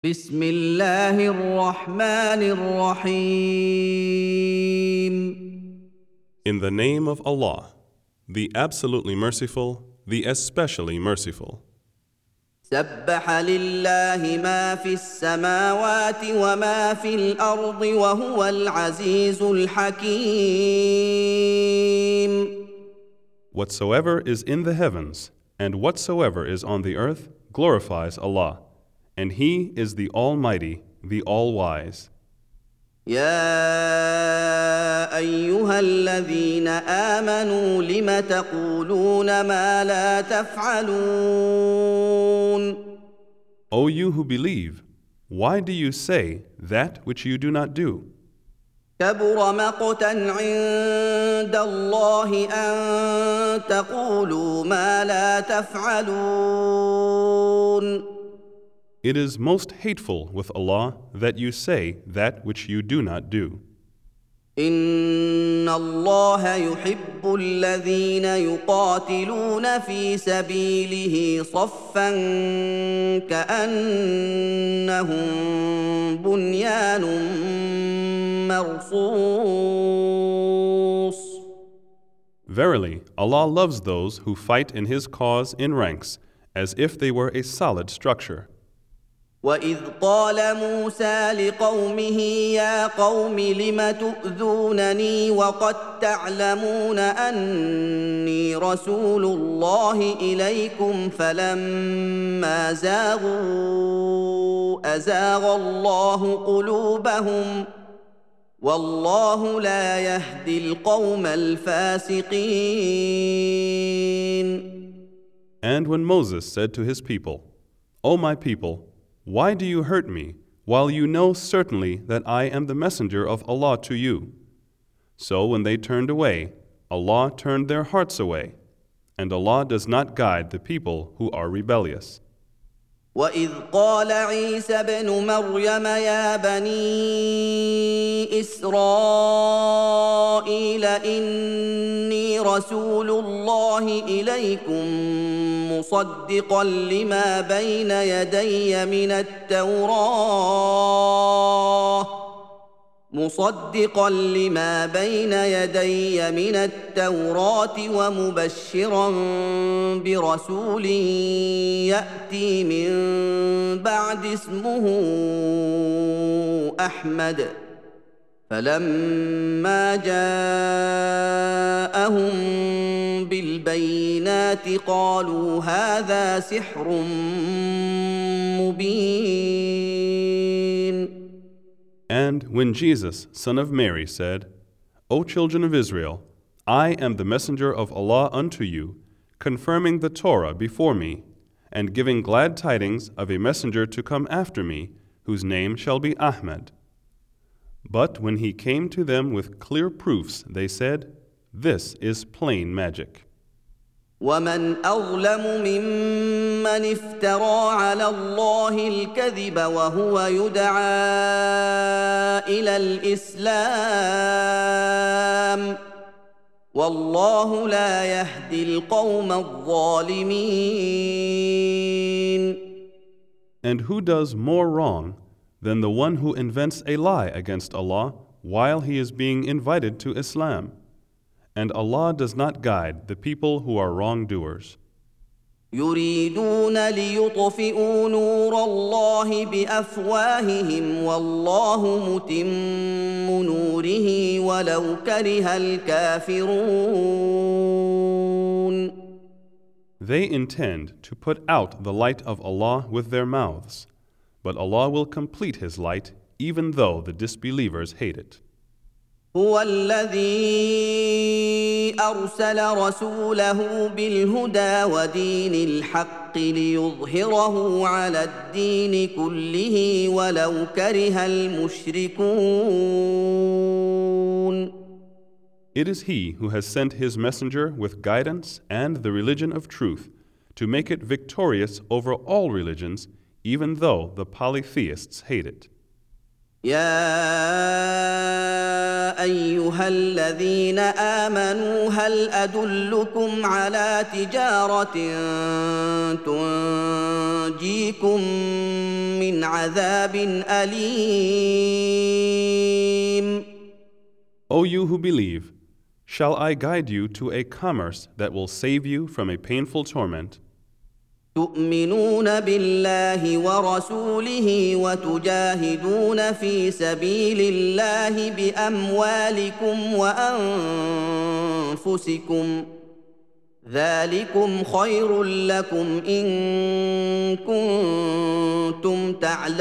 بسم الله الرحمن الرحيم. In the name of Allah, the absolutely merciful, the especially merciful. سبح لله ما في السماوات وما في الأرض وهو العزيز الحكيم. Whatsoever is in the heavens and whatsoever is on the earth glorifies Allah, and He is the Almighty, the All-Wise. يا أيها الذين آمنوا لم تقولون ما لا تفعلون. O you who believe, why do you say that which you do not do? كبر مقتا عند الله أن تقولوا ما لا تفعلون. It is most hateful with Allah that you say that which you do not do. إن الله يحب الذين يقاتلون في سبيله صفا كأنهم بنيان مرصوص. Verily, Allah loves those who fight in His cause in ranks, as if they were a solid structure. وإذ قال موسى لقومه يا قوم لم تؤذونني وقد تعلمون أني رسول الله إليكم فلما زاغوا أزاغ الله قلوبهم والله لا يهدي القوم الفاسقين. And when Moses said to his people, O my people, why do you hurt me, while you know certainly that I am the messenger of Allah to you? So when they turned away, Allah turned their hearts away, and Allah does not guide the people who are rebellious. وإذ قال عيسى ابن مريم يا بني إسرائيل إني رسول الله إليكم مصدقا لما بين يدي من التوراة ومبشرا برسول يأتي من بعد اسمه أحمد فلما جاءهم بالبينات قالوا هذا سحر مبين. And when Jesus, son of Mary, said, O children of Israel, I am the messenger of Allah unto you, confirming the Torah before me, and giving glad tidings of a messenger to come after me, whose name shall be Ahmad. But when he came to them with clear proofs, they said, This is plain magic. ومن أظلم ممن افترى على الله الكذب وهو يدعى إلى الإسلام والله لا يهدي القوم الظالمين. And who does more wrong than the one who invents a lie against Allah while he is being invited to Islam? And Allah does not guide the people who are wrongdoers. يريدون ليطفئوا نور الله بأفواههم والله متم نوره ولو كره الكافرون. They intend to put out the light of Allah with their mouths, but Allah will complete His light even though the disbelievers hate it. هو الذي أرسل رسوله بالهدى ودين الحق ليظهره على الدين كله ولو كره المشركون. It is He who has sent His messenger with guidance and the religion of truth to make it victorious over all religions, even though the polytheists hate it. يا ايها الذين امنوا هل ادلكم على تجاره تنجيكم من عذاب اليم O you who believe, shall I guide you to a commerce that will save you from a painful torment? تؤمنون بالله ورسوله وتجاهدون في سبيل الله باموالكم وانفسكم ذلكم خير لكم ان كنتم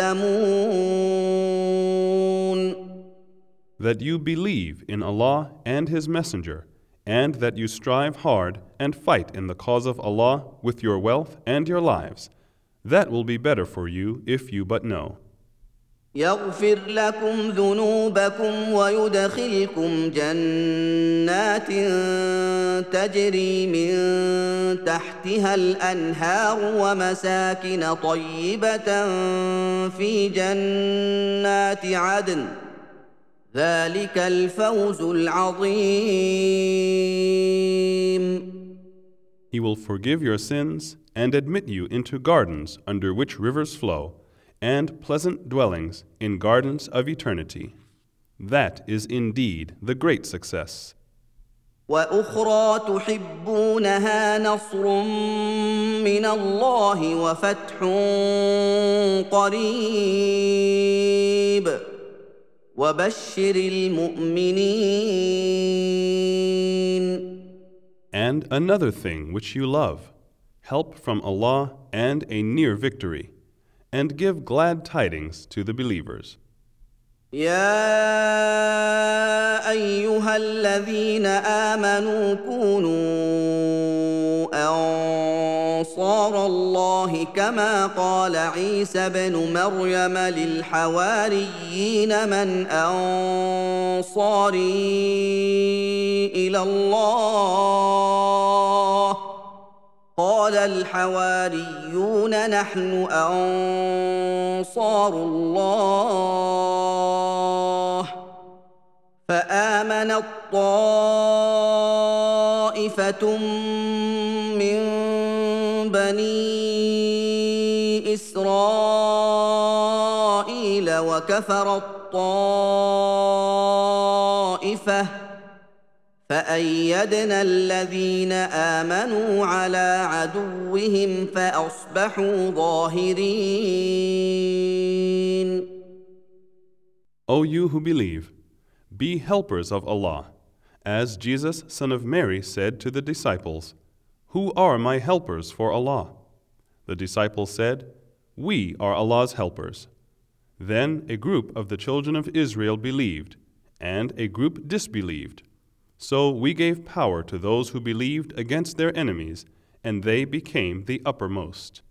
تعلمون That you believe in Allah and His Messenger, and that you strive hard and fight in the cause of Allah with your wealth and your lives. That will be better for you if you but know. يغفر لكم ذنوبكم ويدخلكم جنات تجري من تحتها الانهار ومساكن طيبه في جنات عدن ذلك الفوز العظيم He will forgive your sins and admit you into gardens under which rivers flow, and pleasant dwellings in gardens of eternity. That is indeed the great success. واخرى تحبونها نصر من الله وفتح قريب وبشر المؤمنين And another thing which you love, help from Allah and a near victory, and give glad tidings to the believers. يا ايها الذين امنوا كونوا انصار الله كما قال عيسى بن مريم للحواريين من انصاري الى الله قال الحواريون نحن انصار الله فامنت طائفه من بني اسرائيل وكفرت طائفه فأيدنا الذين آمنوا على عدوهم فأصبحوا ظاهرين. O you who believe, be helpers of Allah, as Jesus, son of Mary, said to the disciples, "Who are my helpers for Allah?" The disciples said, "We are Allah's helpers." Then a group of the children of Israel believed, and a group disbelieved. So we gave power to those who believed against their enemies, and they became the uppermost.